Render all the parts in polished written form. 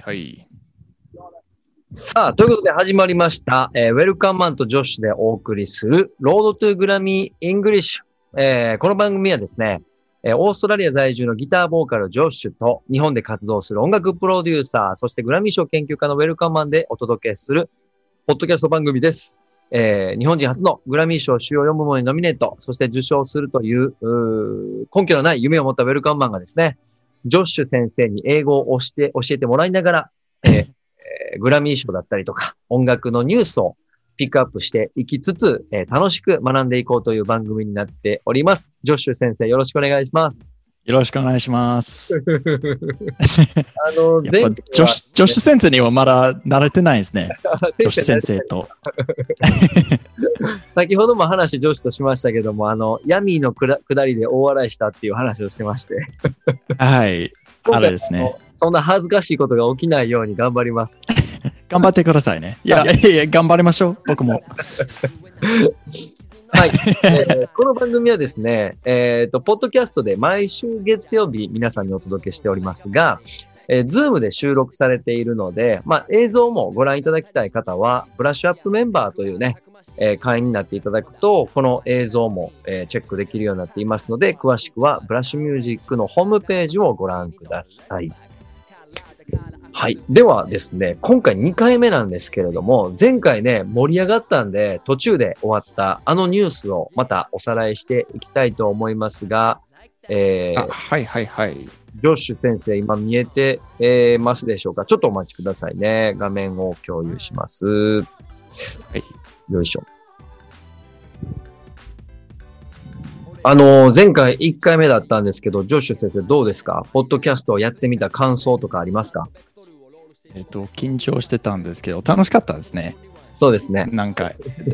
はい。 さあ、ということで始まりました、ウェルカムマンとジョッシュでお送りする、ロードトゥグラミーイングリッシュ。この番組はですね、オーストラリア在住のギターボーカルジョッシュと、日本で活動する音楽プロデューサー、そしてグラミー賞研究家のウェルカムマンでお届けする、ポッドキャスト番組です。日本人初のグラミー賞主要4部門にノミネート、そして受賞するという、根拠のない夢を持ったウェルカムマンがですね、ジョッシュ先生に英語を教えてもらいながら、グラミー賞だったりとか、音楽のニュースをピックアップしていきつつ、楽しく学んでいこうという番組になっております。ジョッシュ先生、よろしくお願いします。 よろしくお願いします。やっぱジ前ョッシュ先生にはまだ慣れてないですね。ジョッシュ先生と。 先ほども話、ジョッシュとしましたけども、ヤミーの下りで大笑いしたっていう話をしてまして。 はい。あれですね。 そんな恥ずかしいことが起きないように頑張ります。 頑張ってくださいね。いや、頑張りましょう。僕も。 はい、この番組はですね、ポッドキャストで毎週月曜日皆さんにお届けしておりますが、Zoom で収録されているので、映像もご覧いただきたい方は、ブラッシュアップメンバーというね、会員になっていただくと、この映像も、チェックできるようになっていますので、詳しくはブラッシュミュージックのホームページをご覧ください。はい。ではですね、今回2回目なんですけれども、前回ね、盛り上がったんで、途中で終わったあのニュースをまたおさらいしていきたいと思いますが、 はいはいはい。 ジョッシュ先生、今見えて、ますでしょうか？ちょっとお待ちくださいね。画面を共有します。はい。よいしょ。前回1回目だったんですけど、ジョッシュ先生どうですか？ポッドキャストをやってみた感想とかありますか？ 緊張してたんですけど、楽しかったですね。 そうですね。 なんか、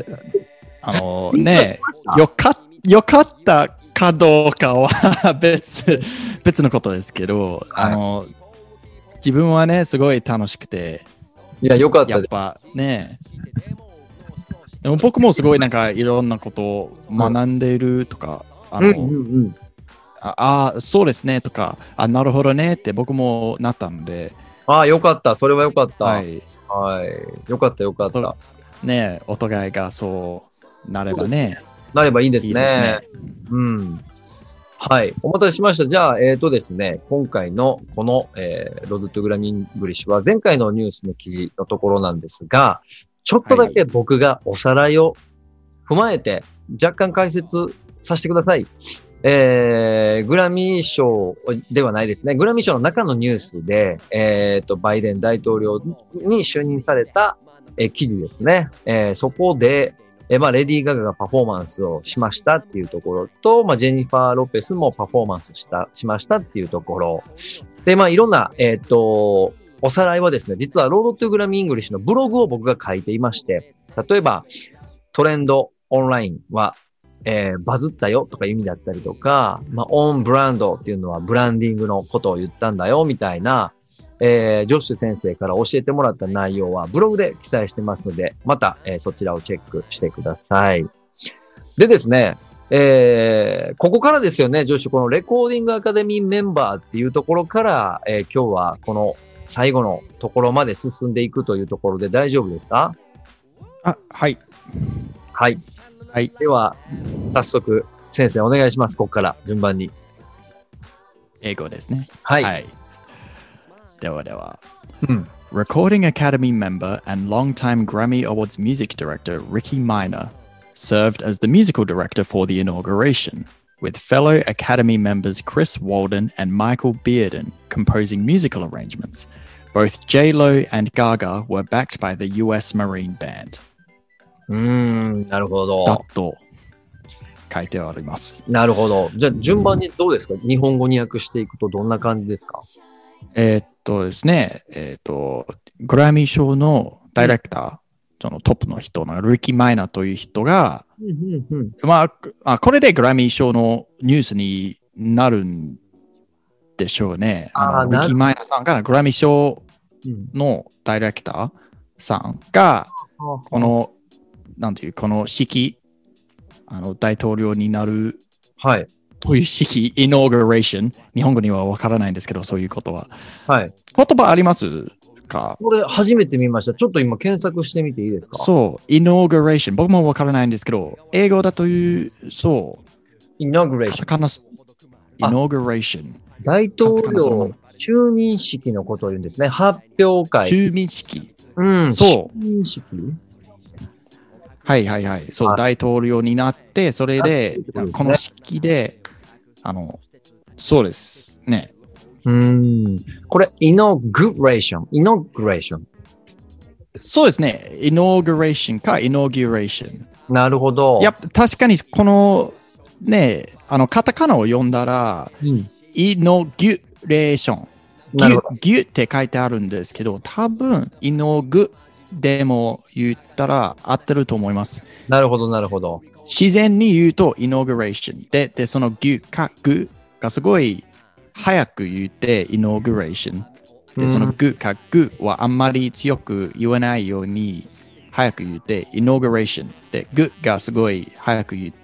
ね、よかったかどうかは別のことですけど、はい、自分はね、すごい楽しくて。 いや、よかったです。 やっぱね、でも僕もすごいなんかいろんなことを学んでいるとか、そうですねとか、なるほどねって僕もなったので。 よかった。それはよかった。 はい。 はい。よかった、よかった。 ね、お互いがそうなればね。 なればいいですね。いいですね。うん。はい。お待たせしました。じゃあ、ですね、今回のこの、ロードトゥグラミーイングリッシュは前回のニュースの記事のところなんですが、ちょっとだけ僕がおさらいを踏まえて若干解説させてください。グラミー賞ではないですね。グラミー賞の中のニュースで、バイデン大統領に就任された、記事ですね。そこで、レディー・ガガがパフォーマンスをしましたっていうところと、ジェニファー・ロペスもパフォーマンスしましたっていうところ。で、いろんな、おさらいはですね、実はロードトゥグラミーイングリッシュのブログを僕が書いていまして、例えば、トレンドオンラインは、バズったよとかいう意味だったりとか、オンブランドっていうのはブランディングのことを言ったんだよみたいな、ジョッシュ先生から教えてもらった内容はブログで記載してますので、また、そちらをチェックしてください。でですね、ここからですよね、ジョッシュ、このレコーディングアカデミーメンバーっていうところから、今日はこの最後のところまで進んでいくというところで大丈夫ですか？ はい。 はい。はい。では、早速、先生お願いします。ここから順番に。 英語ですね。 はい。はい、 ではでは。Recording Academy member and longtime Grammy Awards music director Ricky Minor served as the musical director for the inauguration, with fellow Academy members Chris Walden and Michael Bearden composing musical arrangements. Both J-Lo and Gaga were backed by the US Marine Band. なるほど。 だと書いてあります。 なるほど。じゃあ順番にどうですか？日本語に訳していくとどんな感じですか？ ですね、グラミー賞のダイレクター、そのトップの人のリッキー・マイナーという人が、これでグラミー賞のニュースになるんでしょうね。リッキー・マイナーさんがグラミー賞のダイレクターさんが、このこの式、大統領になる、 はい。 という式、inauguration、日本語にはわからないんですけど、そういうことは。 はい。 言葉ありますか。 これ初めて見ました。ちょっと今検索してみていいですか？ そう、inauguration。僕もわからないんですけど、英語だという、そう、 inauguration。 カタカナ、inauguration。 大統領就任式のことを言うんですね。発表会。 就任式。 うん。 そう。 就任式。 はいはいはい。そう、大統領になって、それで、この式で、そうですね。 これ、inauguration。 そうですね。inauguration か inauguration。 なるほど。 いや、確かにこの、ね、カタカナを読んだら、inauguration。ギュって書いてあるんですけど、多分、inauguでも言ったら合ってると思います。 なるほど、なるほど。 自然に言うと inauguration で、そのギュかグがすごい早く言って inauguration で、そのグかグはあんまり強く言わないように早く言って inauguration で、グがすごい早く言って、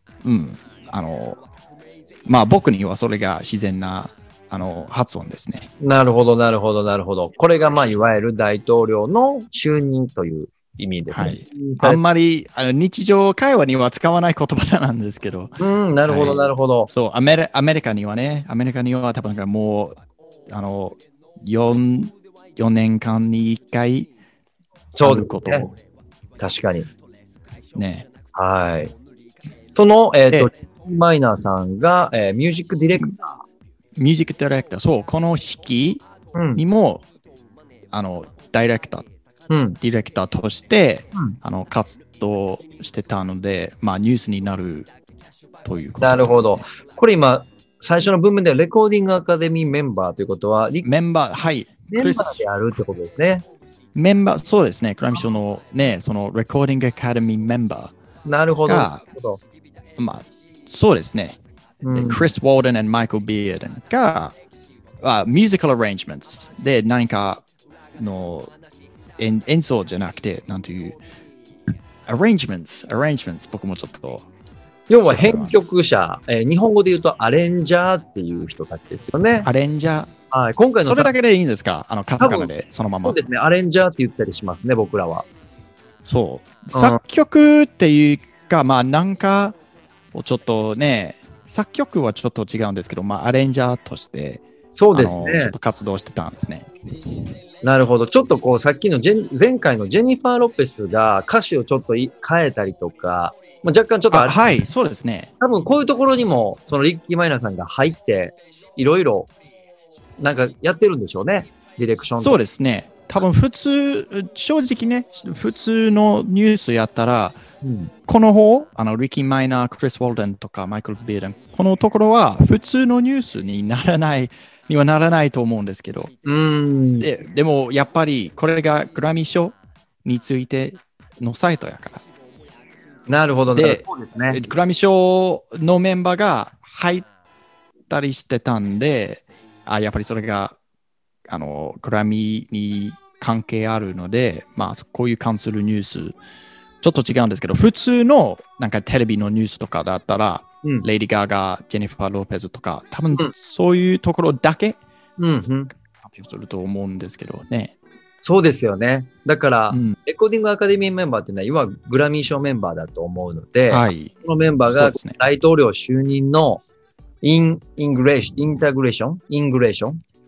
まあ僕にはそれが自然な発音ですね。 なるほど、なるほど、なるほど。これがまあいわゆる大統領の就任という意味ですね。 はい。あんまり日常会話には使わない言葉なんですけど。 なるほど、なるほど。 そう、アメリカには多分もう、4年間に1回、 そういうこと、 ね。確かに。 ね。 はい。その、マイナーさんが、ミュージックディレクター。 ミュージックディレクター、そう、この式にも、ディレクターとして、活動してたので、まあ、ニュースになるということです、ね。 なるほど。これ今、最初の文面ではレコーディングアカデミーメンバーということは、 メンバー、はい。 メンバーであるってことですね。 メンバー、そうですね。グラミー賞のね、そのレコーディングアカデミーメンバー。 なるほど。 まあ、そうですね。クリス・ウォーデン and マイケル・ビアーデンが、ミュージカル・アレンジメントで何かの演奏じゃなくて、なんていう、アレンジメント、僕もちょっと。 要は編曲者、日本語で言うとアレンジャーっていう人たちですよね。 アレンジャー。 はい、今回のそれだけでいいんですか？カタカナでそのまま。 そうですね。アレンジャーって言ったりしますね、僕らは。 そう。作曲っていうか、まあなんかをちょっとね、作曲はちょっと違うんですけど、まあアレンジャーとして、 そうですね。 ちょっと活動してたんですね。 なるほど。ちょっとこう、さっきの前回のジェニファー・ロペスが歌詞をちょっと変えたりとか、まあ、若干ちょっとはい、そうですね。 多分こういうところにも、そのリッキー・マイナーさんが入って、いろいろ、なんかやってるんでしょうね。ディレクション。 そうですね。多分正直ね、普通のニュースやったら、この方、リッキー・マイナー、クリス・ウォルデンとかマイケル・ビーデン、このところは普通のニュースにはならないと思うんですけど。でも、やっぱりこれがグラミー賞についてのサイトやから。 なるほどね。 グラミー賞のメンバーが入ったりしてたんで、やっぱりそれがグラミーに関係あるので、まあ、こういう関するニュース、ちょっと違うんですけど、普通のなんかテレビのニュースとかだったら、レイディ・ガーガー、ジェニファー・ローペズとか、多分そういうところだけ発表すると思うんですけどね。 そうですよね。だから、レコーディングアカデミーメンバーっていうのは、いわゆるグラミー賞メンバーだと思うので、このメンバーが大統領就任のイングレーションイノグレーシ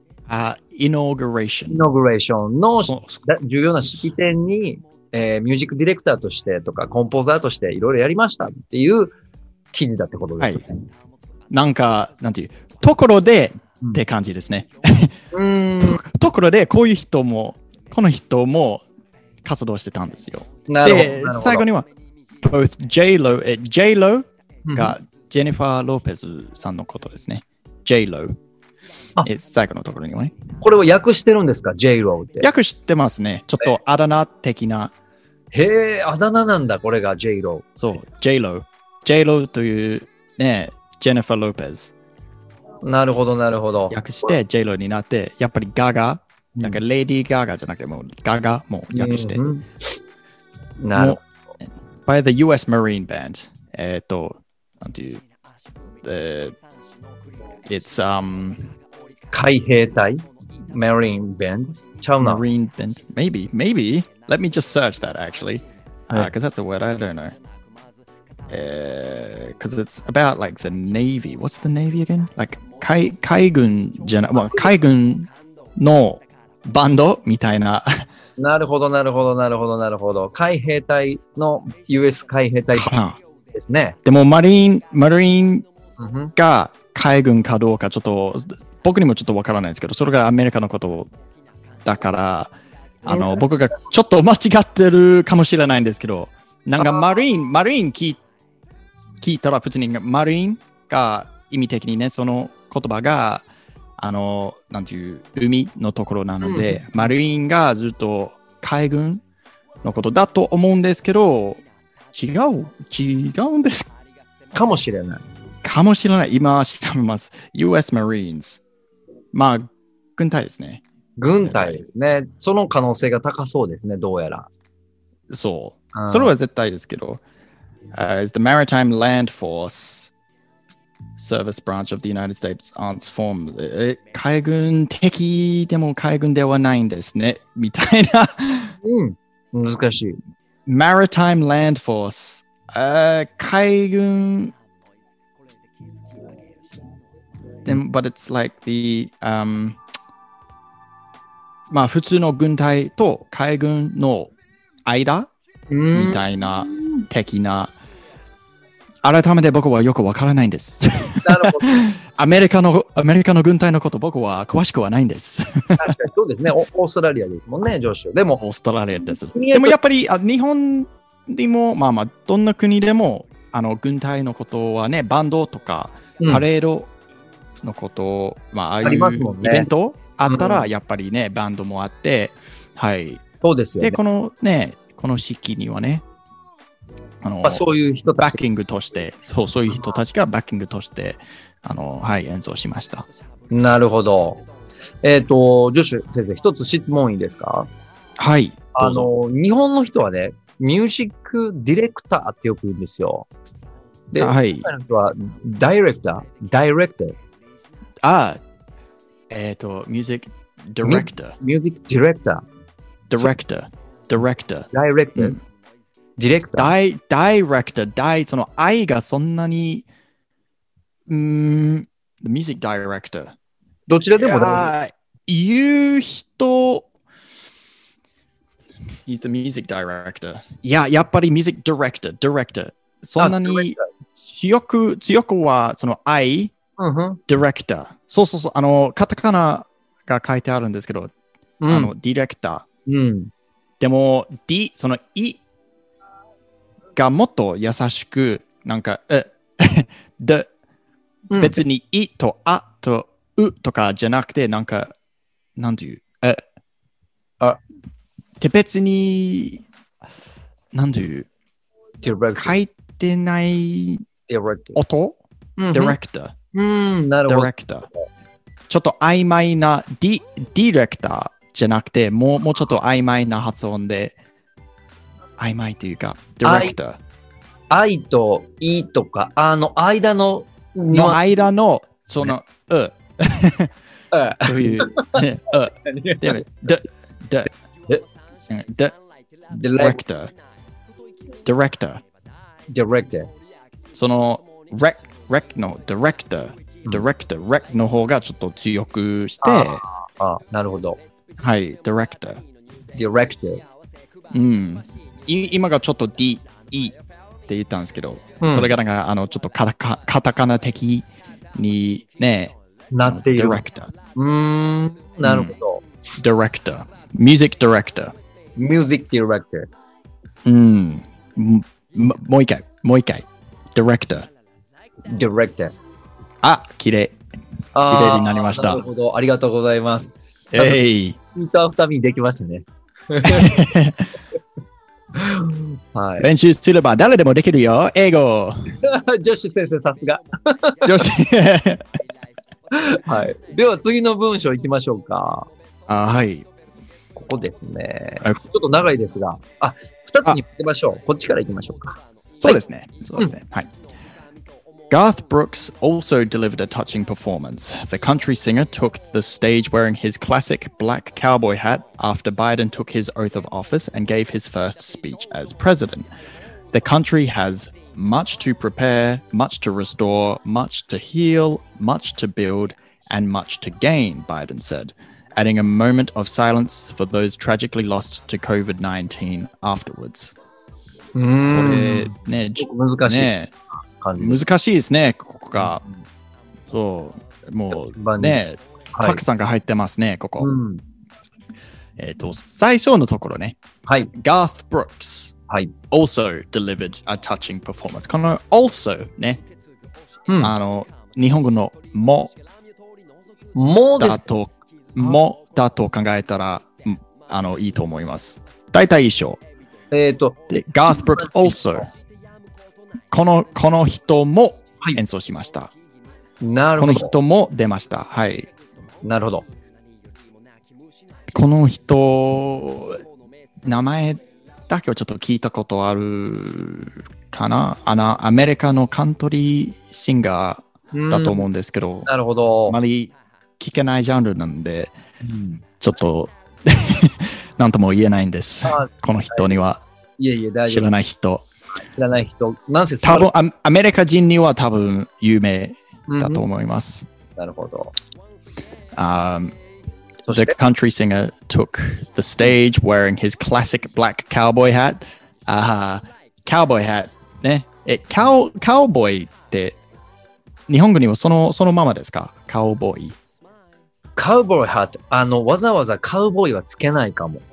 ョンの重要な式典に、ミュージックディレクターとしてとか、コンポーザーとしていろいろやりましたっていう記事だってことですね。はい、 なんか、なんていう、ところでって感じですね。ところで、この人も活動してたんですよ。で、最後には、both J-Lo がジェニファー・ローペズさんのことですね。J-Lo。最後のところにはね。 これを訳してるんですか？ J-Lo って。 訳してますね。ちょっとあだ名的な。 へえ、あだ名なんだ、これが J-Lo。 そう、J-Lo。J-Lo というね、ジェニファー・ローペズ。 なるほど、なるほど。 訳して J-Lo になって、やっぱりガガ、なんかレディー・ガガじゃなくてもうガガも訳して。 なるほど。 by the US Marine Band。なんていう、it's 海兵隊 Marine Band。 ちゃうな。 Marine bent. Maybe. Let me just search that actually. Because that's a word I don't know. Because it's about like the Navy. What's the Navy again? Like 海軍じゃない、まあ、海軍のバンドみたいな。 なるほど。海兵隊の US 海兵隊ですね。 でもマリンが海軍かどうかちょっと僕にもちょっとわからないですけど、それがアメリカのことだから、僕がちょっと間違ってるかもしれないんですけど、なんかマリン聞いたら普通にマリンが意味的にね、その言葉がなんていう海のところなので、マリンがずっと海軍のことだと思うんですけど、違うんですかもしれない。 今調べます。US Marines。まあ、軍隊ですね。 軍隊ですね。その可能性が高そうですね、どうやら。 そう。それは絶対ですけど。The Maritime Land Force Service Branch of the United States Armed Forces。海軍的でも海軍ではないんですね。みたいな。 難しい。 Maritime Land Force。海軍。But it's like the、まあ普通の軍隊と海軍の間みたいな的な。改めて僕はよくわからないんです。 なるほど。 アメリカの軍隊のこと僕は詳しくはないんです。 確かにそうですね。オーストラリアですもんね、上司。でもオーストラリアです。でもやっぱり日本でもまあどんな国でも軍隊のことはね、バンドとかパレードのこと、まあああいうイベントあったらやっぱりね、バンドもあって、はい。 そうですよね。 でこの式にはね、 そういう人たちバッキングとして、そういう人たちがバッキングとしてはい、演奏しました。 なるほど。ジョシュ先生、一つ質問いいですか？ はい。 日本の人はね、ミュージックディレクターってよく言うんですよ。で、 はい。 海外の人はダイレクター。 ミュージックディレクター。 ミュージックディレクター。 ディレクター。 ダイレクター。ディレクター。 ダイレクター。その愛がそんなに、ミュージックダイレクター。 どちらでも言う人、He's the music director. やっぱりミュージックディレクター。そんなに強くはその愛、ディレクター。そうカタカナが書いてあるんですけど、ディレクター。でも、そのいがもっと優しく、なんか、別にいとあとうとかじゃなくて、なんか、なんていう、で別に、なんていう、書いてない音ディレクター。 なるほど。 ディレクター。ちょっと曖昧なディレクターじゃなくて、もうちょっと曖昧な発音で、曖昧というか、ディレクター。 愛といとか、間の間の、その、そういう、ディレクター。ディレクター。その、レクのディレクター、レクの方がちょっと強くして、 なるほど。 はい、ディレクター。 ディレクター。 今がちょっと D、E って言ったんですけど、それがなんかちょっとカタカナ的にね、 なっている。 ディレクター。 なるほど。 ディレクター。ミュージックディレクター。 ミュージックディレクター。もう一回。ディレクター。 ディレクター。 綺麗になりました。 なるほど。ありがとうございます。 イーター2人できましたね。はい、 練習すれば誰でもできるよ、英語。 ジョシュ先生、さすが。 ジョシュ。 はい。では次の文章いきましょうか。 はい。 ここですね。ちょっと長いですが、2つに行きましょう。こっちから行きましょうか。 そうですね。はい。 Garth Brooks also delivered a touching performance. The country singer took the stage wearing his classic black cowboy hat after Biden took his oath of office and gave his first speech as president. The country has much to prepare, much to restore, much to heal, much to build, and much to gain, Biden said, adding a moment of silence for those tragically lost to COVID-19 afterwards. これね、 難しい。 ね難しいですね、ここが。そう、もうね、たくさんが入ってますね、ここ。最初のところね、Garth Brooks also delivered a touching performance。この also ね、日本語のもだと考えたらいいと思います。大体一緒。で、Garth Brooks also。この人も演奏しました。 なるほど。 この人も出ました。はい。 なるほど。 この人、名前だけはちょっと聞いたことあるかな。アメリカのカントリーシンガーだと思うんですけど、 なるほど。 あまり聞けないジャンルなんで、ちょっと何とも言えないんです。この人には。知らない人。 知らない人。なんせ多分アメリカ人には多分有名だと思います。 なるほど。 The country singer took the stage wearing his classic black cowboy hat. Cowboy hat ね。カウボーイって日本語にはそのままですか？カウボーイ。 カウボーイハット。わざわざカウボーイはつけないかも。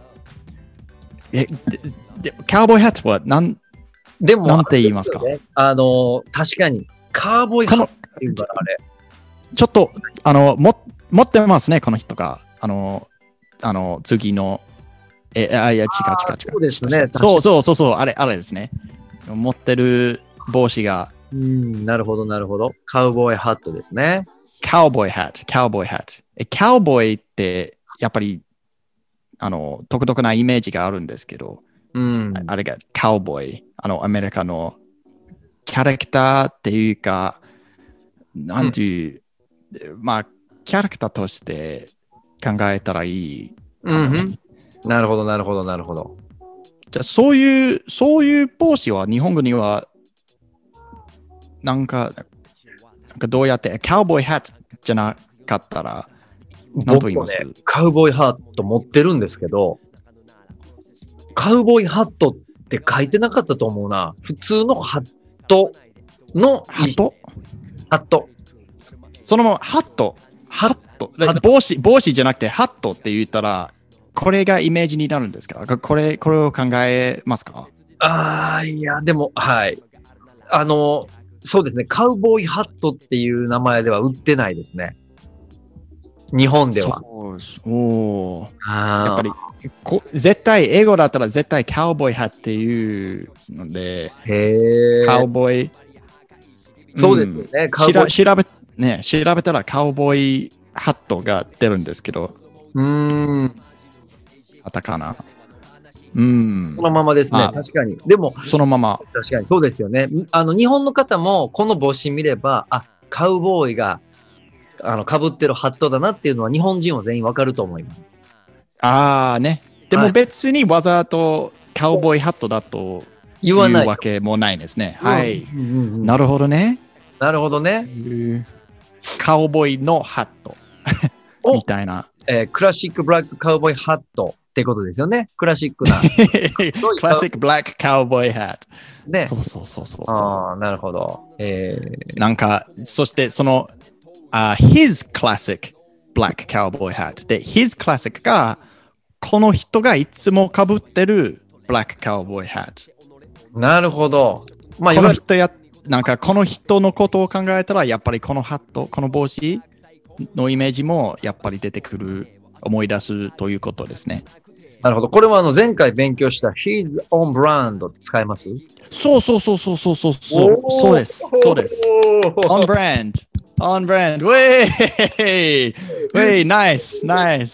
カウボーイハットはなんて言いますか？ 確かにカウボーイハットっていうからあれ。 ちょっと持ってますね、この人が。次のいや違う。 そうですね。 そう、あれですね。持ってる帽子が。 なるほど。カウボーイハットですね。 カウボーイハット。カウボーイってやっぱり独特なイメージがあるんですけど、あれがカウボーイ、アメリカのキャラクターっていうか、なんていう、まあ、キャラクターとして考えたらいい、ね。 なるほど。 じゃあ、そういう帽子は日本語には、なんかどうやって、カウボーイハットじゃなかったら、何と言います？ カウボーイハット持ってるんですけど、カウボーイハットって書いてなかったと思うな。普通のハットのハットそのままハット帽子じゃなくてハットって言ったらこれがイメージになるんですか？これを考えますか？ いやでもはいそうですね。カウボーイハットっていう名前では売ってないですね。日本では。 やっぱり絶対英語だったら絶対カウボーイハットっていうので、カウボーイ。 そうですね。 調べたらカウボーイハットが出るんですけど。カタカナ。 そのままですね。確かに。でも、 そのまま。 確かに。そうですよね。日本の方もこの帽子見れば、カウボーイが被ってるハットだなっていうのは日本人は全員わかると思います。 ね。でも別にわざとカウボーイハットだと言わないわけもないですね。はい。なるほどね。 なるほどね。 カウボーイのハットみたいな。 クラシックブラックカウボーイハットってことですよね。クラシックな。 クラシックブラックカウボーイハット。 ね。 そう。 なるほど。 なんか、そしてその、his classic black cowboy hat で、his classic が、この人がいつも被ってる black cowboy hat。 なるほど。 この人なんかこの人のことを考えたら、やっぱりこのハット、この帽子のイメージもやっぱり出てくる、思い出すということですね。 なるほど。これは前回勉強した his own brand って使えます？ そうです。on brand. Way, nice.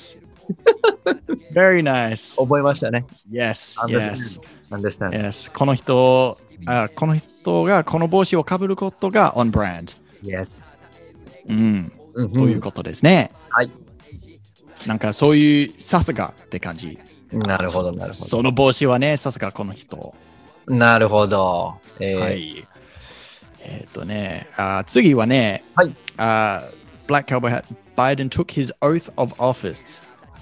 Very nice. 覚えましたね。 Yes. Understand. Yes. この人ことが、この帽子をかぶることが on brand。 Yes。 うん。ということですね。 はい。 なんかそういうさすがって感じ。 なるほど、なるほど。 その帽子はね、さすがこの人。 なるほど。 はい。次はね、 はい。 Black Cowboy Hat, Biden took his oath of office、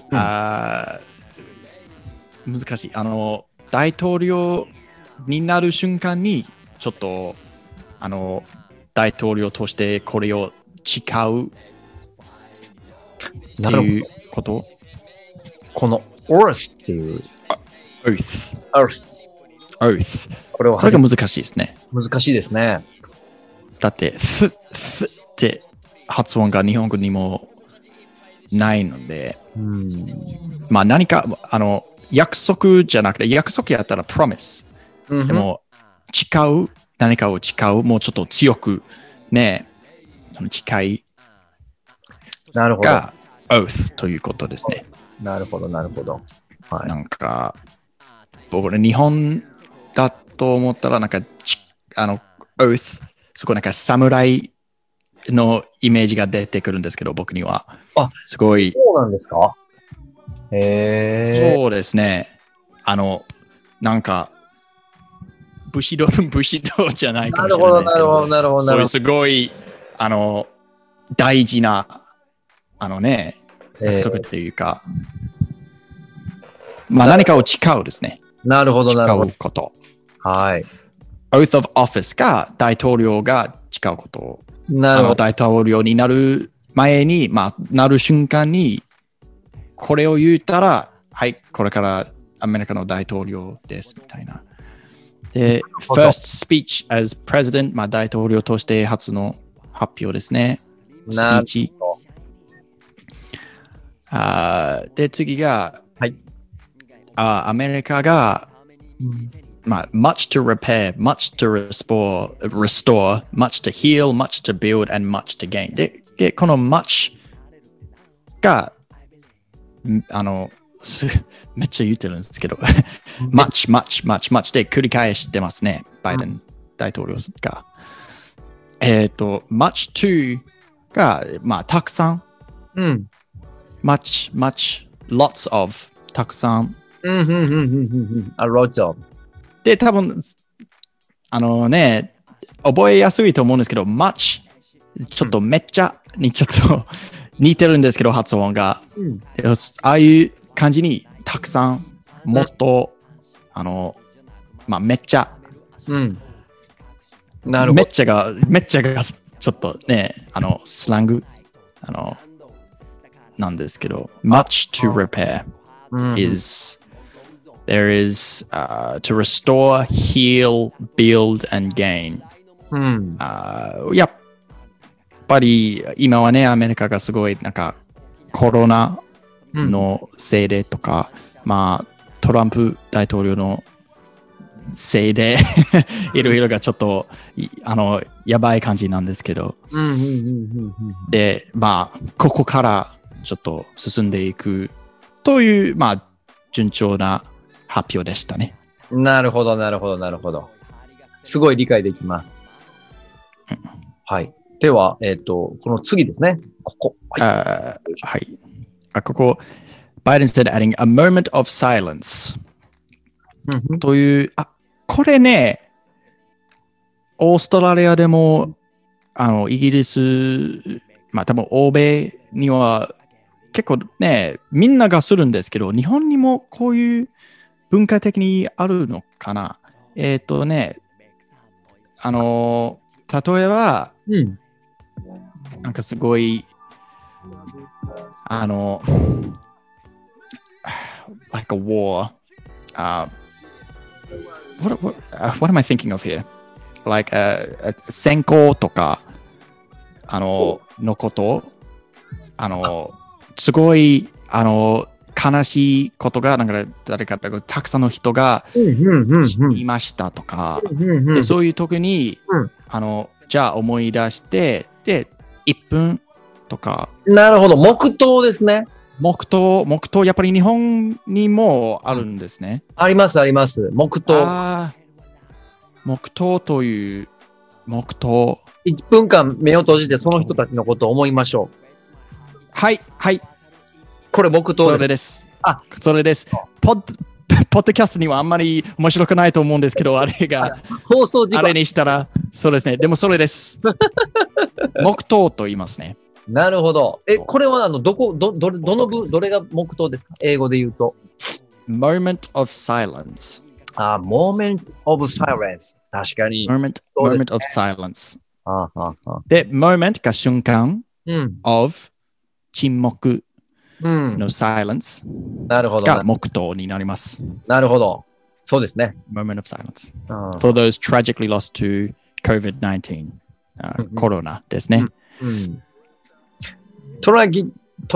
難しい。大統領になる瞬間に、ちょっと、大統領としてこれを誓うっていうこと。 この oath っていう。 oath。 これが難しいですね。 難しいですね。 だって、って発音が日本語にもないので、まあ何か、約束じゃなくて、約束やったら promise。でも、誓う、何かを誓う、もうちょっと強くね、誓いが oath ということですね。 なるほど、なるほど。 はい、なんか、僕ね、日本だと思ったら、なんか、oath、そこなんか侍のイメージが出てくるんですけど、僕には。すごい。 そうなんですか？ そうですね。なんか、武士道じゃないかもしれないですけど、 なるほど。 そういうすごい、大事な、約束っていうか、まあ何かを誓うですね。 なるほど、なるほど。 誓うこと。 はい。 oath of office が大統領が誓うこと。 なるほど。 大統領になる前に、まあ、なる瞬間に、これを言ったら、はい、これからアメリカの大統領です、みたいな。で、first speech as president、まあ、大統領として初の発表ですね。スピーチ。で、次が、 はい、 アメリカが、まあ、much to repair, much to restore, much to heal, much to build, and much to gain. で、この much が、めっちゃ言ってるんですけど、much で繰り返してますね、バイデン大統領が。much to が、まあ、たくさん。much, lots of たくさん。 lots of。 で、多分、覚えやすいと思うんですけど、much、ちょっとめっちゃにちょっと似てるんですけど、発音が。ああいう感じに、たくさん、もっと、まあ、めっちゃ。 なるほど。 めっちゃが、ちょっとね、スラング、なんですけど、much to repair is...There is to restore, heal, build, and gain. やっぱり今はね、アメリカがすごいなんかコロナのせいでとか、まあトランプ大統領のせいでいろいろがちょっとやばい感じなんですけど、で、まあここからちょっと進んでいくというまあ順調な発表でしたね。 なるほど。すごい理解できます。はい。では、この次ですね。ここ。 はい。ここ、Biden said adding a moment of silence、という、これね、オーストラリアでも、イギリス、まあ多分欧米には結構ね、みんながするんですけど、日本にもこういう文化的にあるのかな。例えば、なんかすごい、like a war. What am I thinking of here? Like戦争とか、のこと、すごい、悲しいことが、なんか誰かたくさんの人が死にましたとか、でそういう時に、じゃあ思い出して、で、1分とか。 なるほど、黙祷ですね。 黙祷、やっぱり日本にもあるんですね。 あります、黙祷。 黙祷という、黙祷。 1分間目を閉じてその人たちのことを思いましょう。 はい、はい。 これ黙祷それです。それです。ポッドキャストにはあんまり面白くないと思うんですけど、あれが、 放送時間あれにしたら、そうですね。でもそれです。黙祷と言いますね。 なるほど。これはどれが黙祷ですか？英語で言うと。 moment of silence。 moment of silence。確かに。 moment of silence。 で、 moment が瞬間、of 沈黙の silence が黙祷になります。 なるほど。そうですね。 moment of silence. For those tragically lost to COVID-19、コロナですね。 tragically。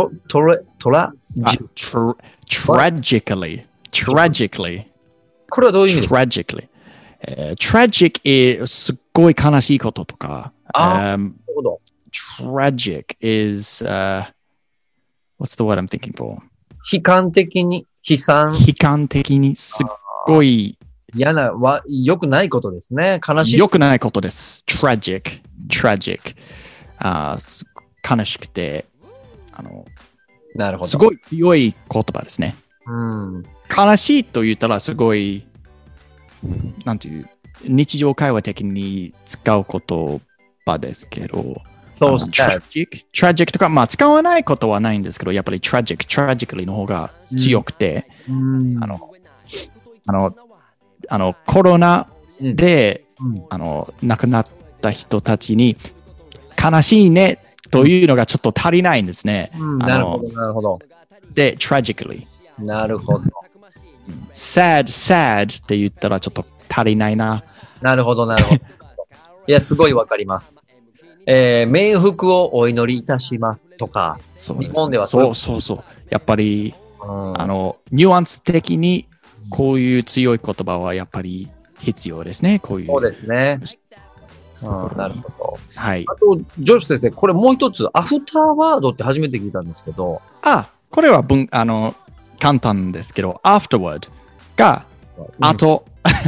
これはどういう意味ですか？ tragic すっごい悲しいこととか。 なるほど。 tragic is what's the word I'm thinking for? 悲観的に、悲観的にすっごい嫌な、良くないことですね。悲しい。 良くないことです。tragic。悲しくて、 なるほど。 すごい強い言葉ですね。悲しいと言ったらすごい、なんていう、日常会話的に使う言葉ですけど、 そうですね。 tragic とか、まあ使わないことはないんですけど、やっぱりtragically の方が強くて、コロナで、亡くなった人たちに悲しいねというのがちょっと足りないんですね。 なるほど、なるほど。 で、tragically。 なるほど。 sad って言ったらちょっと足りないな。 なるほど、なるほど。いや、すごいわかります。冥福をお祈りいたしますとか、 日本ではそう。やっぱり、ニュアンス的にこういう強い言葉はやっぱり必要ですね。こういう。 そうですね。なるほど。 はい。 あと、ジョシュ先生、これもう一つ、アフターワードって初めて聞いたんですけど。 これは簡単ですけど、afterward が、後。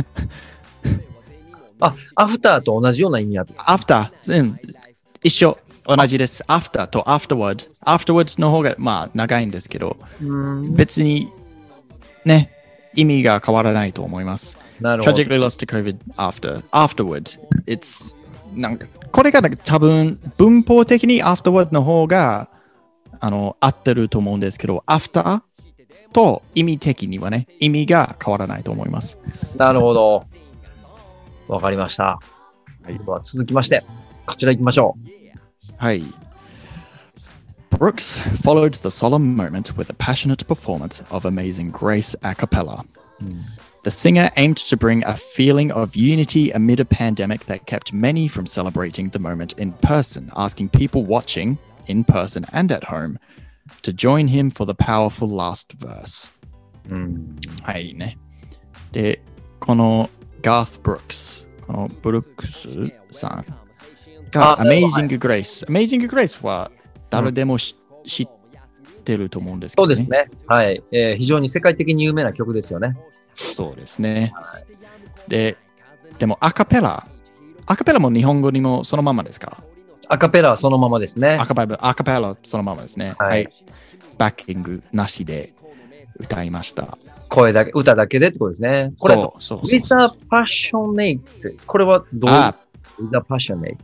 アフターと同じような意味ある。 after、一緒。同じです。after と afterward。afterwards の方が、まあ、長いんですけど、別に、ね、意味が変わらないと思います。 なるほど。 tragically lost to COVID afterward. It's なんかこれが多分文法的に afterward の方が合ってると思うんですけど、after と意味的にはね、意味が変わらないと思います。 なるほど。わかりました。では続きまして、こちら行きましょう。 はい。Brooks followed the solemn moment with a passionate performance of Amazing Grace a cappella. The singer aimed to bring a feeling of unity amid a pandemic that kept many from celebrating the moment in person, asking people watching, in person and at home, to join him for the powerful last verse. はいね。で、このガース・ブルックス、このブルックスさんが Amazing Grace。Amazing Grace は誰でも知ってると思うんですけどね。 そうですね。はい。非常に世界的に有名な曲ですよね。 そうですね。でもアカペラも日本語にもそのままですか？ アカペラはそのままですね。 アカペラそのままですね。はい。バッキングなしで歌いました。 歌だけでってことですね。これ、With a Passionate。これはどういう With a Passionate。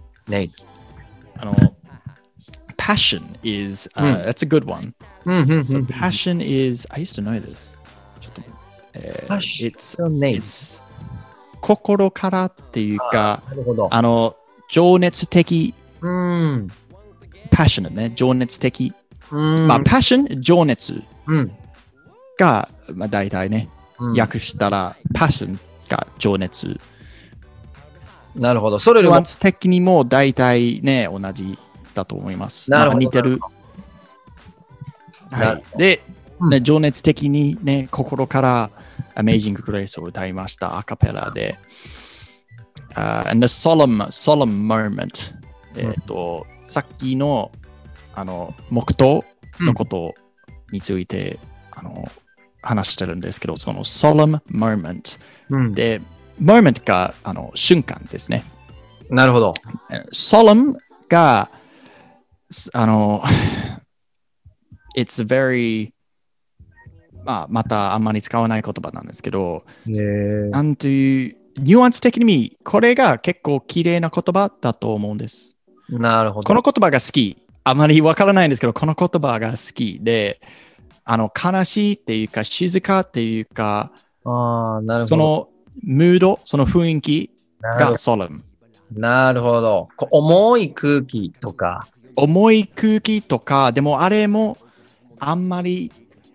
Passion is, that's a good one. So passion is, I used to know this. ちょっとit's 心からっていうか、情熱的、passionate ね、情熱的。まあ、passion、情熱が、まあ、大体ね、訳したら、passion が情熱。 なるほど。それよりも、 ニュアンス的にも大体ね、同じだと思います。 なるほど。 似てる。はい。で、情熱的にね、心から Amazing Grace を歌いました、アカペラで。and the solemn moment。さっきの、黙祷のことについて、話してるんですけど、その solemn moment で、 moment が瞬間ですね。 なるほど。 solemn が、it's very またあんまり使わない言葉なんですけど、なんという、ニュアンス的にこれが結構綺麗な言葉だと思うんです。 なるほど。 この言葉が好き。あまりわからないんですけど、この言葉が好きで、悲しいっていうか、静かっていうか、 なるほど。 そのムード、その雰囲気がソレム。 なるほど。重い空気とか。 重い空気とか、でもあれもあんまり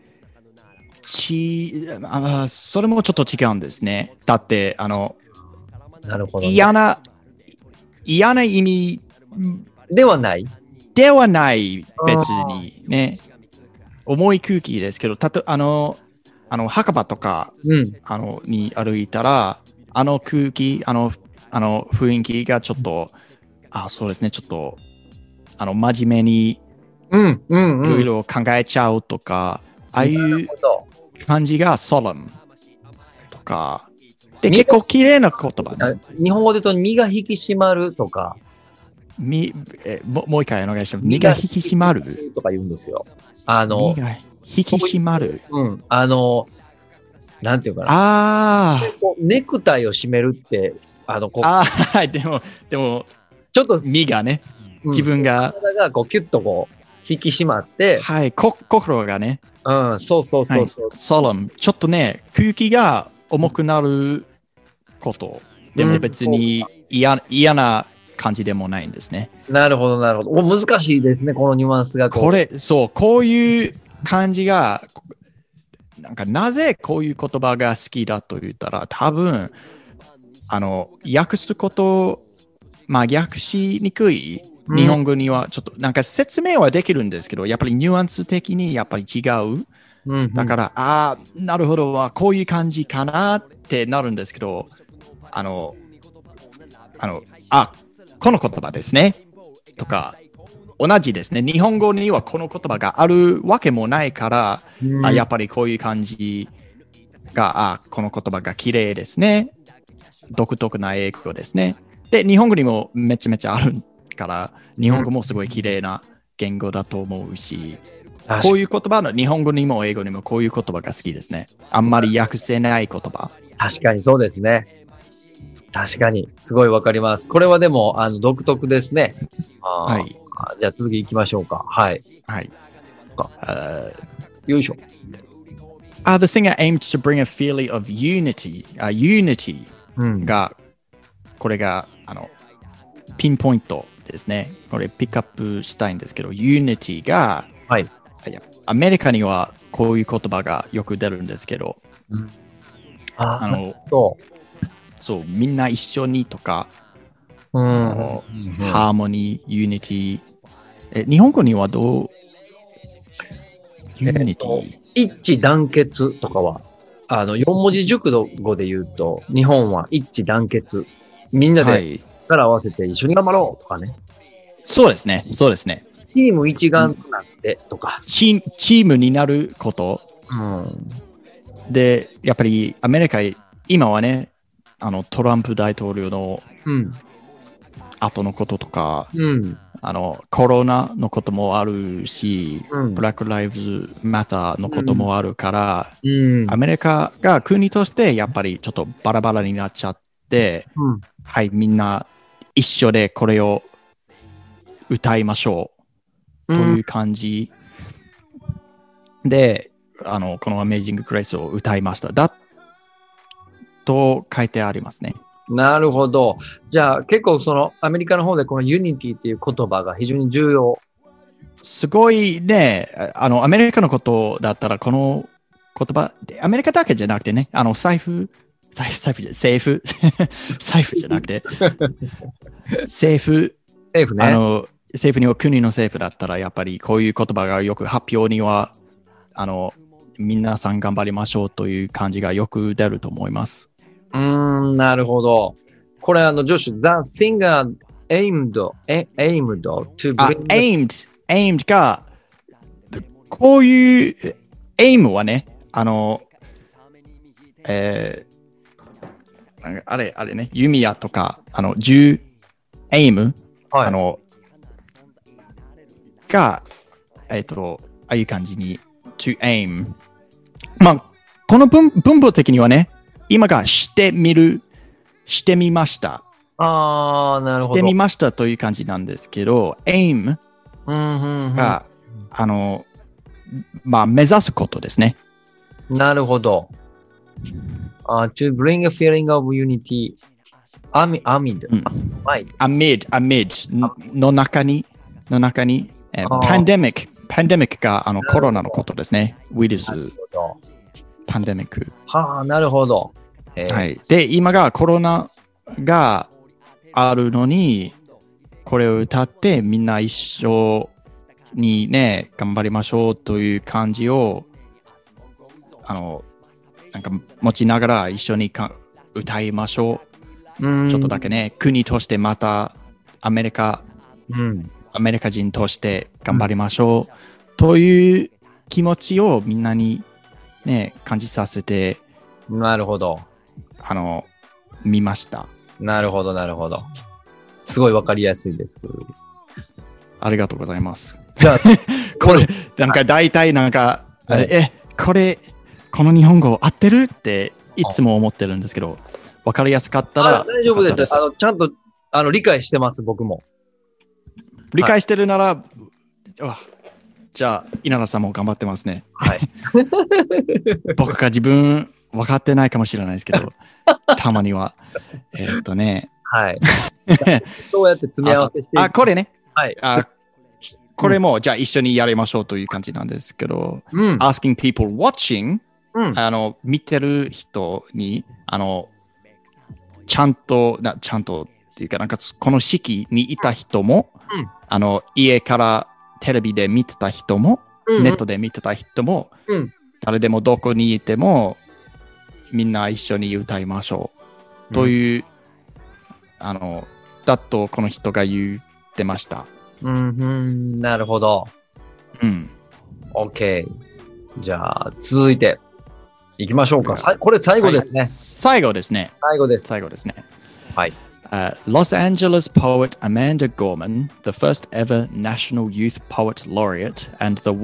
それもちょっと違うんですね。だって、 なるほど、ね、 嫌な意味ではない別にね。重い空気ですけど、墓場とか、に歩いたら、空気、雰囲気がちょっと、そうですね、ちょっと、真面目に、いろいろ考えちゃうとか、ああいう感じがソレムとか、で、結構綺麗な言葉ね。 日本語で言うと、身が引き締まるとか。 もう一回お願いします。身が引き締まるとか言うんですよ。 身が引き締まる。 なんていうかな。ネクタイを締めるって、 でも、 ちょっと身がね、自分が。 体がキュッと引き締まって。 はい、心がね。 そう。 ソレム。ちょっとね、空気が重くなること。でも別に嫌な感じでもないんですね。 なるほど。難しいですね、このニュアンスが。 こういう感じが、なぜこういう言葉が好きだと言ったら、多分、訳すこと、訳しにくい日本語にはちょっと、説明はできるんですけど、やっぱりニュアンス的にやっぱり違う。だから、なるほど、こういう感じかなってなるんですけど、この言葉ですね。とか、同じですね。日本語にはこの言葉があるわけもないから、やっぱりこういう感じが、この言葉が綺麗ですね。独特な英語ですね。で、日本語にもめちゃめちゃあるから、日本語もすごい綺麗な言語だと思うし、こういう言葉の日本語にも英語にもこういう言葉が好きですね。あんまり訳せない言葉。 確かにそうですね。確かに、すごいわかります。これはでも、独特ですね。 はい。 じゃあ続き行きましょうか。はい。 はい。 よいしょ。 The singer aimed to bring a feeling of unity が、これが、ピンポイントですね。これピックアップしたいんですけど、unity が、 はい。 アメリカにはこういう言葉がよく出るんですけど、そう、みんな一緒にとか、ハーモニー、ユニティ。日本語にはどうユニティ、 一致団結とかは、4文字熟語で言うと、日本は一致団結。みんなで力を合わせて一緒に頑張ろうとかね。 そうですね。チーム一丸となってとか。 チームになること。で、やっぱりアメリカ、今はね、トランプ大統領の後のこととか、コロナのこともあるし、ブラック・ライブズ・マターのこともあるから、アメリカが国としてやっぱりちょっとバラバラになっちゃって、はい、みんな一緒でこれを歌いましょうという感じで、この Amazing Grace を歌いました。と書いてありますね。 なるほど。じゃあ結構アメリカの方でこのユニティっていう言葉が非常に重要。 すごいね、アメリカのことだったらこの言葉、アメリカだけじゃなくてね、財布じゃなくて、政府ね。政府には国の政府だったらやっぱりこういう言葉がよく発表には、皆さん頑張りましょうという感じがよく出ると思います。 なるほど。これジョシュ、The singer aimed to bring aimed が、こういう、aim はね、 あれね、弓矢とか、銃、エイム、 はい。 が、ああいう感じに、to aim。まあ、この文法的にはね、今がしてみました。 ああ、なるほど。 してみましたという感じなんですけど、aim うん、 が、まあ、目指すことですね。 なるほど。to bring a feeling of unity amid, うん、amid の中に、パンデミックがコロナのことですね。ウイルス、パンデミック。 はあ、なるほど。 はい。で、今がコロナがあるのに、これを歌ってみんな一緒にね、頑張りましょうという感じを、なんか持ちながら一緒に歌いましょう。ちょっとだけね、国としてまたアメリカ人として頑張りましょう、という気持ちをみんなにね、感じさせて、 なるほど。 見ました。 なるほど、なるほど。すごいわかりやすいです。 ありがとうございます。 じゃあ、 これ、なんか大体なんか、この日本語合ってるっていつも思ってるんですけど、わかりやすかったら大丈夫です。ちゃんと理解してます、僕も。 理解してるなら、じゃあ、稲田さんも頑張ってますね。 はい。 僕が自分分かってないかもしれないですけど、たまには。 はい。どうやって積み合わせしてこれね。 はい。 これも、じゃあ一緒にやりましょうという感じなんですけど、asking people watching、見てる人に、ちゃんとっていうか、なんかこの式にいた人も、家からテレビで見てた人も、ネットで見てた人も、誰でもどこにいても、みんな一緒に歌いましょう。という、だとこの人が言ってました。 なるほど。OK。じゃあ、続いていきましょうか。これ最後ですね。 最後ですね。 はい。 Los Angeles poet Amanda Gorman, the first ever National Youth Poet Laureate and the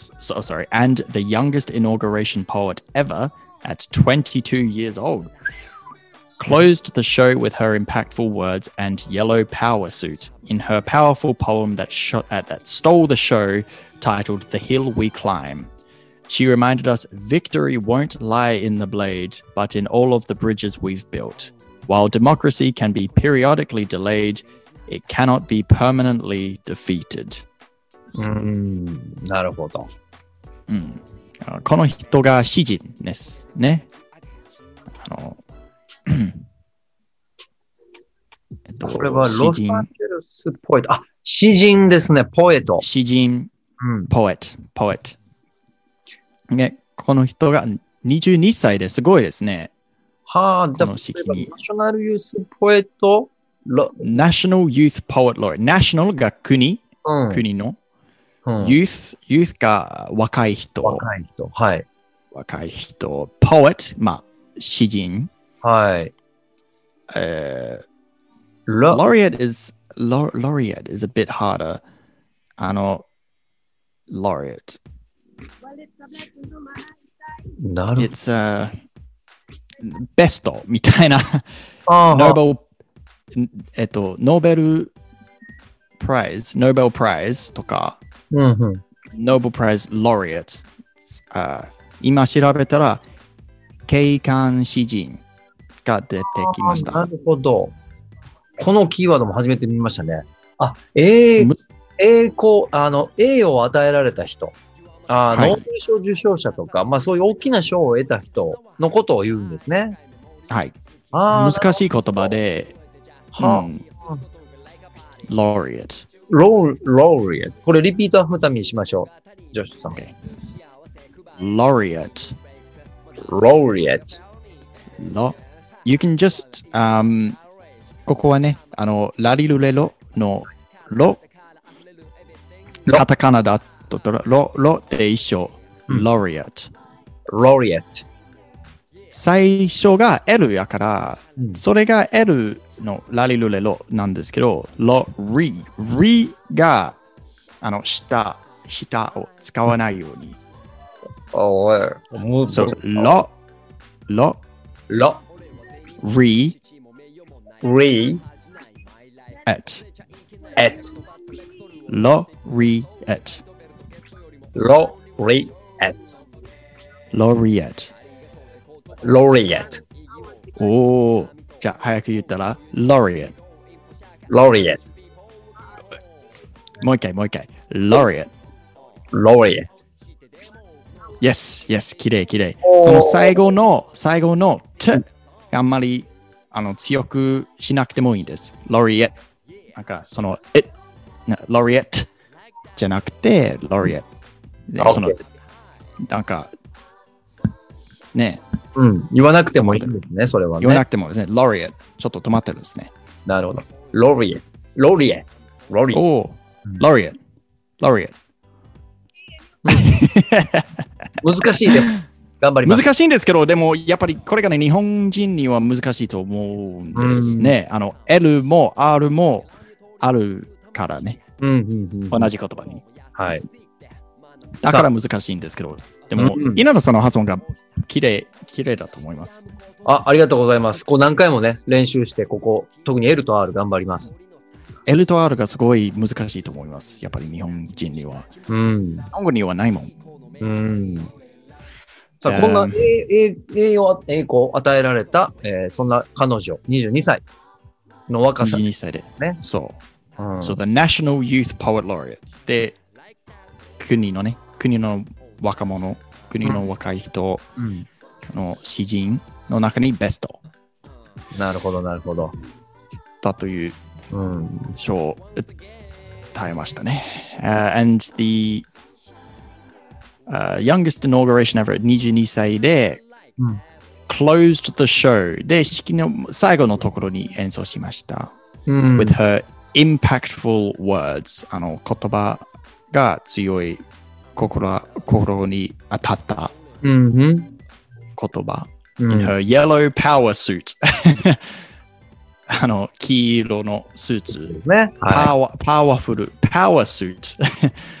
youngest inauguration poet ever at 22 years old, closed the show with her impactful words and yellow power suit in her powerful poem that stole the show, titled The Hill We Climb. She reminded us victory won't lie in the blade, but in all of the bridges we've built. While democracy can be periodically delayed, it cannot be permanently defeated. なるほど。 この人が詩人ですね。 これはロサンゼルスポエット。詩人ですね、ポエット。 詩人、ポエット。ね、この人が22歳ですごいですね。 はあ、この式に。ナショナルユースポエット National Youth Poet Laureate。ナショナルが国の。Youth が若い人。 はい。 若い人。Poet、まあ、詩人。 はい。 Laureate is a bit harder. Laureate. It'sベストみたいな。ノーベルプライズとか、ノーベルプライズロリエット。今調べたら、景観詩人が出てきました。 なるほど。このキーワードも初めて見ましたね。栄を与えられた人。ノーベル賞受賞者とか、そういう大きな賞を得た人のことを言うんですね。 はい。難しい言葉で、laureate。 laureate。これリピートアフターにしましょう。ジョシュさん。 laureate。You can just, ここはね、ラリルレロのロ、カタカナだとロって一緒、laureate。 最初が L やから、 うん、 それが L のラリルレロなんですけど、ロリが下を使わないように。 おい。 そうロリエッロリエッロリエット。 おー、じゃあ早く言ったらロリエット。 ロリエット。 もう一回。ロリエット。 ロリエット。 Yes、きれい。その最後のt あんまり強くしなくてもいいんです。ロリエット。なんかそのロリエットじゃなくてロリエット。でそのなんかね。 うん。言わなくてもいいんですね、それはね。 言わなくてもですね。ロリエット。ちょっと止まってるんですね。 なるほど。ロリエット。おー、 ロリエット。 難しいでも頑張ります。 難しいんですけど、でもやっぱりこれがね、日本人には難しいと思うんですね。L も R もあるからね。同じ言葉に。 はい。 だから難しいんですけど、でも、稲田さんの発音が綺麗だと思います。 ありがとうございます。何回もね、練習して、特に L と R 頑張ります。 L と R がすごい難しいと思います。やっぱり日本人には。日本語にはないもん。 さあ、こんな栄光を与えられた、そんな彼女、22歳の若さ。 22歳で。 ね。 そう。So the National Youth Poet Laureate で、国の若者、国の若い人の詩人の中にベスト。 なるほど。 だという賞を与えましたね。And the youngest inauguration ever 22歳で、closed the show で式の最後のところに演奏しました。with her impactful words 言葉が強い心に当たった言葉、in her yellow power suit 黄色のスーツ、 ね、 パワフルパワースーツ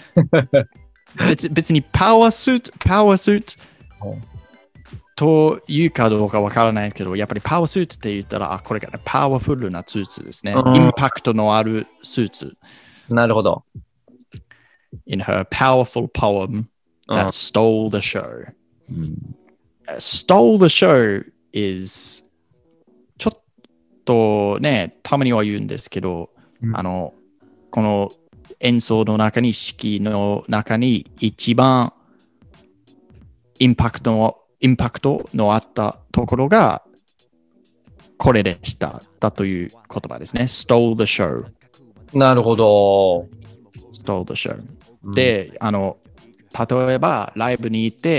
別にパワースーツというかどうかわからないけど、やっぱりパワースーツって言ったら、これが、ね、パワフルなスーツですね。インパクトのあるスーツ。 なるほど。 In her powerful poem that stole the show. Stole the show is ちょっとね、たまには言うんですけど、この演奏の中に、式の中に一番インパクトのあったところがこれでしただという言葉ですね。stole the show。 なるほど。 stole the show。で、例えばライブに行って、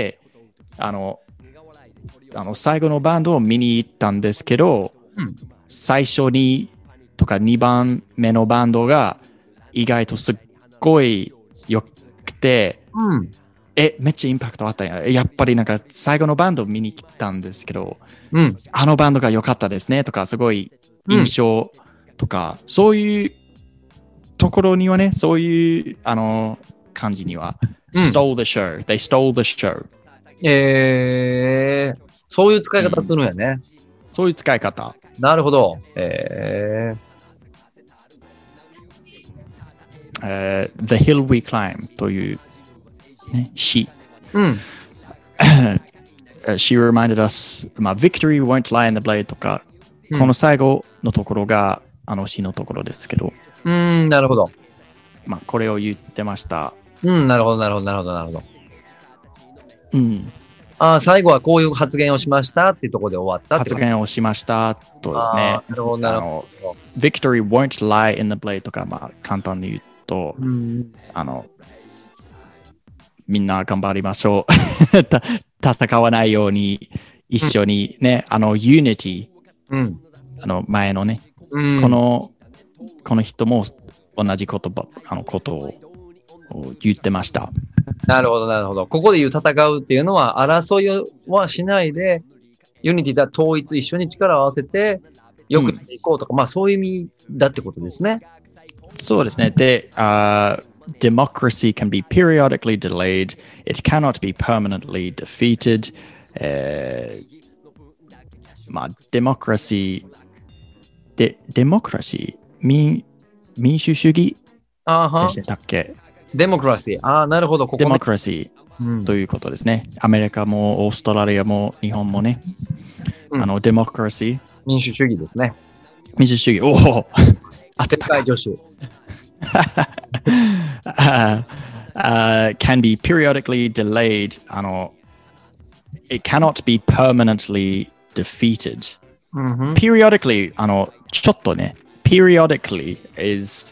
最後のバンドを見に行ったんですけど、最初にとか2番目のバンドが意外とすっごい良くて、めっちゃインパクトあったやっぱりなんか最後のバンドを見に来たんですけど、あのバンドが良かったですねとか、すごい印象とか、そういうところにはね、そういう感じには、stole the show. They stole the show. そういう使い方するんやね。 そういう使い方。 なるほど。 The Hill We Climb というね、詩。She reminded us, victory won't lie in the blade とか、この最後のところが詩のところですけど。 なるほど。 これを言ってました。 なるほど。最後はこういう発言をしましたっていうところで終わったって発言をしましたとですね。Victory won't lie in the blade とか、簡単に言うと、みんな頑張りましょう。戦わないように一緒にね、Unity、前のね、この人も同じことを言ってました。 なるほど。ここで言う戦うっていうのは、争いはしないで、 ユニティだ、統一、一緒に力を合わせて、よくしていこうとか、まあそういう意味だってことですね。 そうですね。で、democracy can be periodically delayed. It cannot be permanently defeated. まあ、デモクラシー、民主主義でしたっけ？ デモクラシー。ああ、なるほど。ここデモクラシーということですね。アメリカもオーストラリアも日本もね。デモクラシー。 民主主義ですね。 民主主義。おお当てたか。 女子。 can be periodically delayed. It cannot be permanently defeated. Periodically, ちょっとね、periodically is,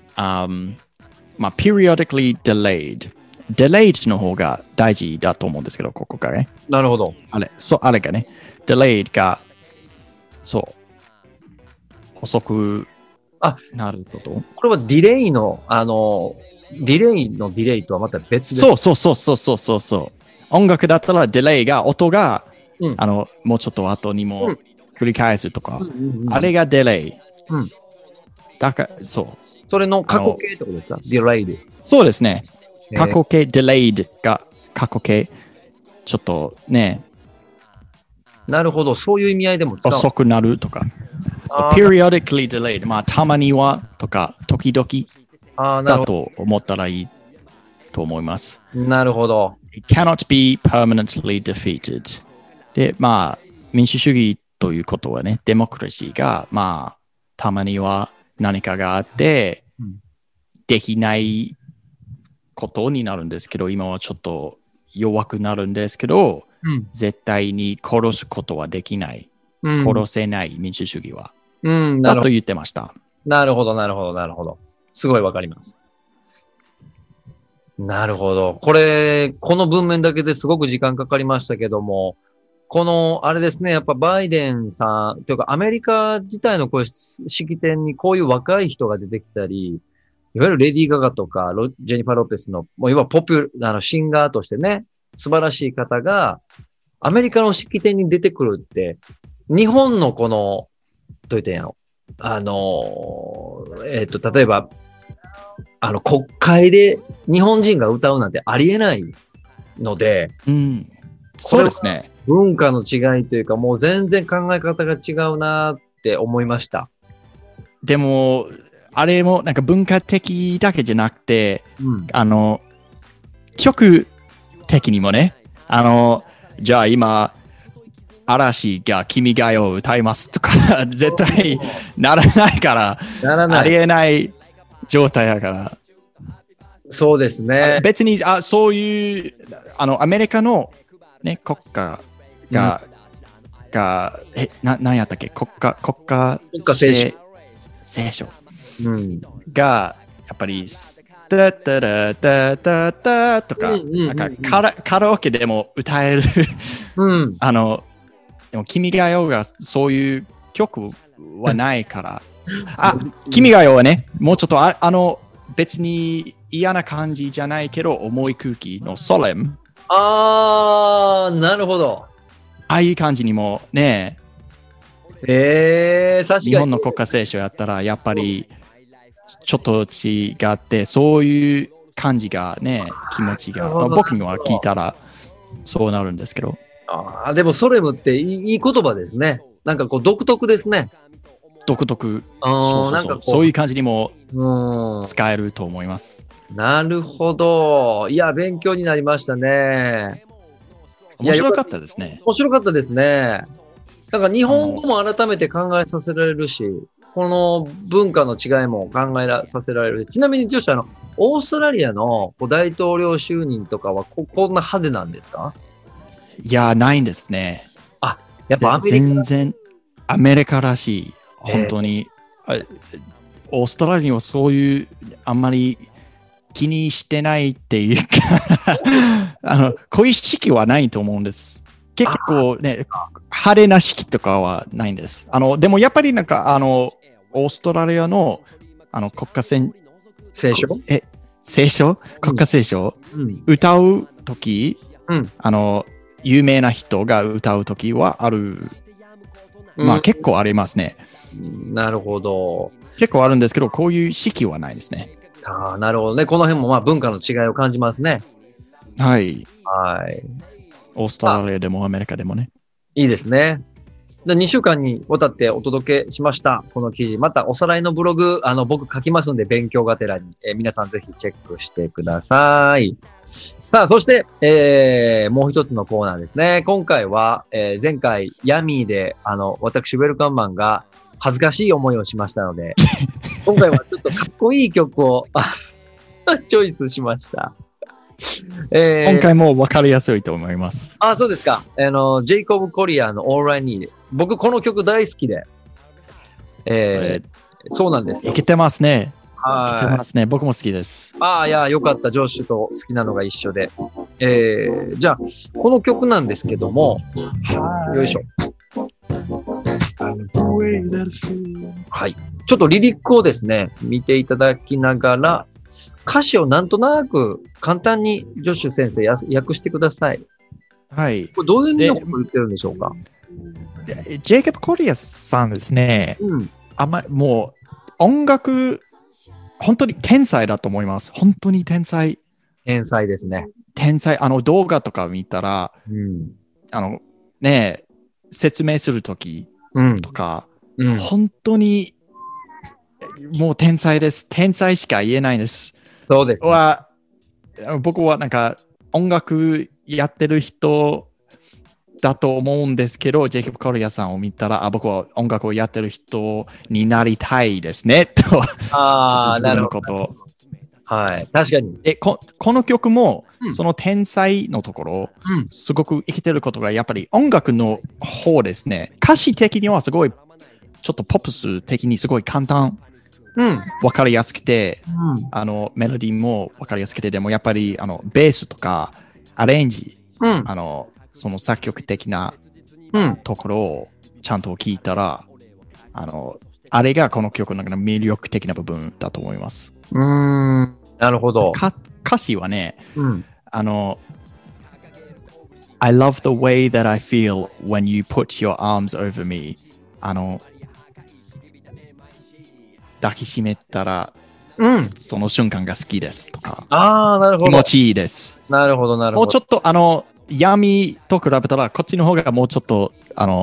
periodically delayed の方が大事だと思うんですけど、ここがね。 なるほど。 あれがね、delayed が、そう、遅くなること。 これはディレイの、ディレイとはまた別で。 そう。音楽だったらディレイが、音が、もうちょっと後にも繰り返すとか、あれがディレイ。だから、そう。 それの過去形ってことですか？ディレイで。 そうですね。過去形、ディレイドが過去形。ちょっとね。 なるほど。そういう意味合いでも使う。 遅くなるとか。periodically delayed。まあ、たまにはとか、時々だと思ったらいいと思います。 なるほど。 It cannot be permanently defeated。で、まあ、民主主義ということはね、デモクラシーが、まあ、たまには何かがあって、できないことになるんですけど、今はちょっと弱くなるんですけど、絶対に殺すことはできない。殺せない民主主義は。だと言ってました。 なるほど。すごいわかります。なるほど。この文面だけですごく時間かかりましたけども、あれですね、やっぱバイデンさん、というかアメリカ自体のこういう式典にこういう若い人が出てきたり、いわゆるレディー・ガガとかジェニファー・ロペスの、もういわばシンガーとしてね、素晴らしい方が、アメリカの式典に出てくるって、日本のどう言ったんやろ。例えば、国会で日本人が歌うなんてありえないので、 そうですね。 文化の違いというか、もう全然考え方が違うなって思いました。 でも、あれもなんか文化的だけじゃなくて、曲的にもね、じゃあ今、嵐が君が代を歌いますとか、絶対ならないから、ありえない状態だから。 そうですね。 別に、そういう、アメリカの、ね、国家が、何やったっけ国家聖書が、やっぱり、タタラタタタとか、なんかカラオケでも歌えるでも君が代がそういう曲はないから。君が代はね、もうちょっと別に嫌な感じじゃないけど、重い空気のソレム。 なるほど。 ああいう感じにもね、 確かに。 日本の国家聖書やったら、やっぱりちょっと違って、そういう感じがね、気持ちが、僕には聞いたらそうなるんですけど。 でもソレムっていい言葉ですね。なんか独特ですね。 独特。そういう感じにも使えると思います。 なるほど。いや、勉強になりましたね。 面白かったですね。 面白かったですね。なんか日本語も改めて考えさせられるし、この文化の違いも考えさせられる。ちなみに、女子オーストラリアの大統領就任とかはこんな派手なんですか？ いや、ないんですね。 やっぱ全然アメリカらしい。本当に。オーストラリアはそういうあんまり気にしてないっていうかこういう式はないと思うんです。結構ね、派手な式とかはないんです。でもやっぱりなんかオーストラリアの国家聖書国家聖書、歌うとき、 有名な人が歌うときはある。まあ結構ありますね。 なるほど。 結構あるんですけど、こういう式はないですね。 ああ、なるほどね。この辺もまあ文化の違いを感じますね。 はい。 はい。 オーストラリアでもアメリカでもね。 いいですね。で2週間にわたってお届けしました。この記事。またおさらいのブログ、僕書きますんで、勉強がてらに、皆さんぜひチェックしてください。さあ、そして、もう一つのコーナーですね。今回は、前回、ヤミーで、私、ウェルカムマンが恥ずかしい思いをしましたので、今回はちょっとかっこいい曲をチョイスしました。 今回も分かりやすいと思います。 あ、そうですか。ジェイコブ・コリアーの All I Need。僕、この曲大好きで。そうなんですよ。 いけてますね。 はい。 いけてますね。僕も好きです。 ああ、いや、よかった。ジョッシュと好きなのが一緒で。じゃあ、この曲なんですけども、よいしょ。はい。ちょっとリリックをですね、見ていただきながら、歌詞をなんとなく簡単にジョッシュ先生訳してください。 はい。 これどういう意味のことを言ってるんでしょうか？ ジェイコブ・コリアさんですね。もう音楽、本当に天才だと思います。本当に天才。 天才ですね。 天才。動画とか見たら、説明するときとか、本当にもう天才です。天才しか言えないです。 そうです、 ね。僕はなんか音楽やってる人だと思うんですけど、ジェイコブ・コリアさんを見たら、僕は音楽をやってる人になりたいですね、と。 ああ、なるほど。はい。確かに。 この曲も、その天才のところ、すごく生きてることが、やっぱり音楽の方ですね。歌詞的にはすごい、ちょっとポップス的にすごい簡単。わかりやすくて、メロディーもわかりやすくて、でもやっぱりベースとかアレンジ、その作曲的なところをちゃんと聞いたら、あれがこの曲の魅力的な部分だと思います。 なるほど。 歌詞はね、I love the way that I feel when you put your arms over me. 抱きしめたら、その瞬間が好きですとか。 ああ、なるほど。 気持ちいいです。 なるほど、なるほど。 もうちょっと闇と比べたら、こっちの方がもうちょっと、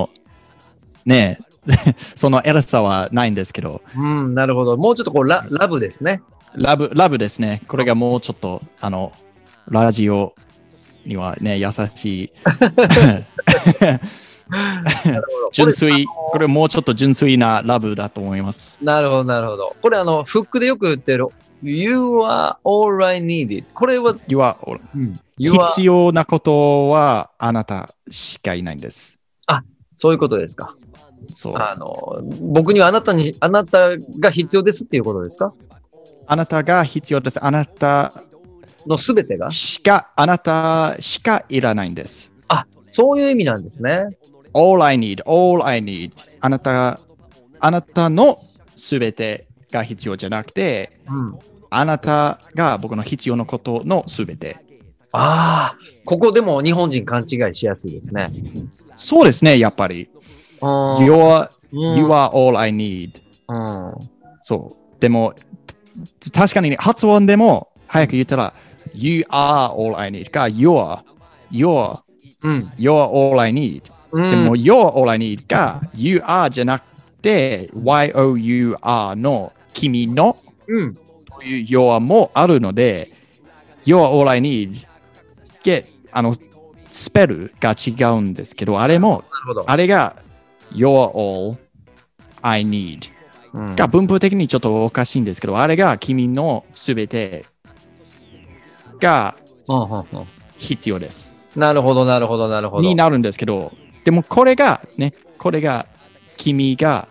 その偉さはないんですけど。 なるほど。もうちょっとこうラブですね。 ラブですね。これがもうちょっと、ラジオにはね、優しい。純粋、これもうちょっと純粋なラブだと思います。 なるほど、なるほど。これフックでよく言ってる You are all I need. これは You are all、必要なことはあなたしかいないんです。 あ、そういうことですか。 そう。 僕にはあなたが必要ですっていうことですか？ あなたが必要です。あなたのすべてがあなたしかいらないんです。 あ、そういう意味なんですね。 All I need. あなたのすべてが必要じゃなくて、あなたが僕の必要なことのすべて。 ああ、ここでも日本人勘違いしやすいですね。 そうですね、やっぱり。You are all I need. そう。でも、確かに、発音でも早く言ったら、You are all I need か、You're all I need。でも、You're all I need か、You are じゃなくて、YOUR の君の、という You're もあるので、You're all I need で、スペルが違うんですけど、あれが You're all I need が文法的にちょっとおかしいんですけど、あれが君のすべてが必要です。 なるほど、なるほど、なるほど。 になるんですけど、でもこれが君が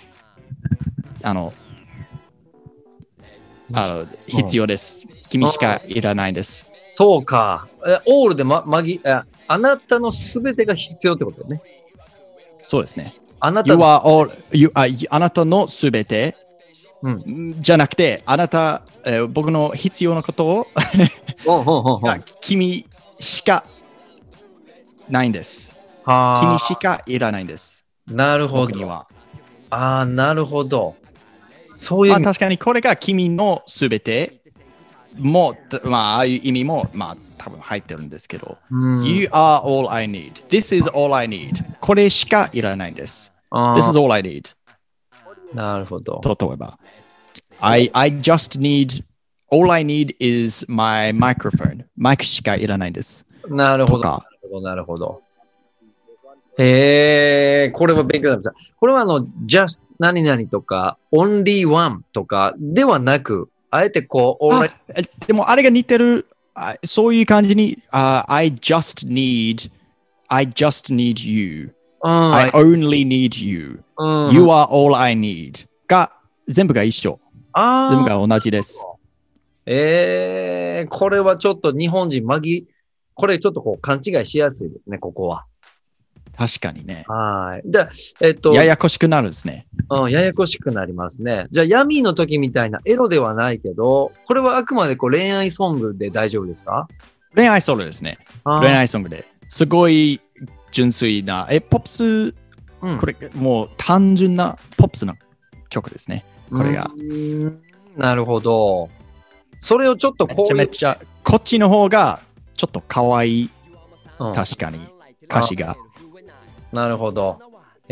必要です。君しかいらないです。 そうか。オールであなたのすべてが必要ってことね。 そうですね。 あなたのすべて、じゃなくて、僕の必要なことを君しかないんです。 は君しかいらないんです。 なるほど。 僕には。 ああ、なるほど。そういう。 確かにこれが君のすべても、ああいう意味も、多分入ってるんですけど。You are all I need. This is all I need. これしかいらないんです。This is all I need. なるほど。 例えば、I just need, all I need is my microphone. マイクしかいらないんです。 なるほど。なるほど。これは勉強になりました。これはjust 何々とか、only one とかではなく、あえてこう、 でもあれが似てる、そういう感じに、I just need you. I only need you. You are all I need. が、全部が一緒。全部が同じです。 これはちょっと日本人これちょっとこう勘違いしやすいですね、ここは。 確かにね。 はい。じゃあ、ややこしくなるんですね。 ややこしくなりますね。じゃあ、ヤミーの時みたいなエロではないけど、これはあくまでこう恋愛ソングで大丈夫ですか？ 恋愛ソングですね。恋愛ソングで。すごい純粋な、ポップス、これもう単純なポップスの曲ですね。これが。 なるほど。それをちょっとこうめちゃめちゃ、こっちの方がちょっと可愛い。確かに。歌詞が。 なるほど。あ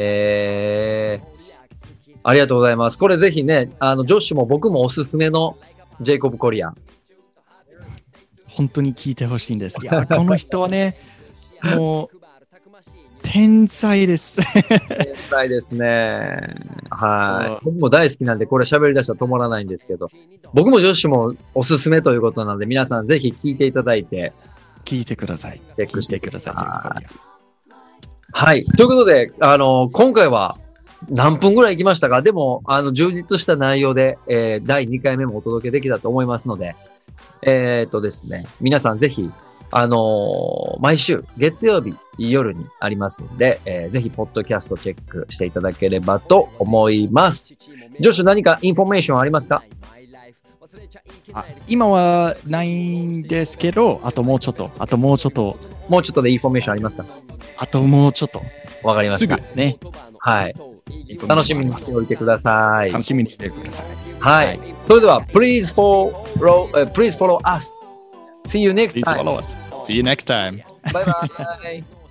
りがとうございます。これぜひね、ジョッシュも僕もおすすめのジェイコブ・コリアン。 本当に聞いてほしいんです。いや、この人はね、もう、天才です。 天才ですね。はい。僕も大好きなんで、これ喋り出したら止まらないんですけど、僕もジョッシュもおすすめということなので、皆さんぜひ聞いていただいて、 聞いてください。 チェックしてください。 はい。 ということで、今回は何分ぐらい行きましたか？でも、充実した内容で、第2回目もお届けできたと思いますので、ですね、皆さんぜひ、毎週月曜日夜にありますので、ぜひ、ポッドキャストチェックしていただければと思います。ジョシュ、何かインフォメーションありますか？ 今はないんですけど、あともうちょっと。 もうちょっとでインフォメーションありますか？ あともうちょっと。 わかりました。 すぐね。 はい。楽しみにしておいてください。 楽しみにしてください。 はい。それでは、please follow us. See you next time. Please follow us. See you next time. Bye bye.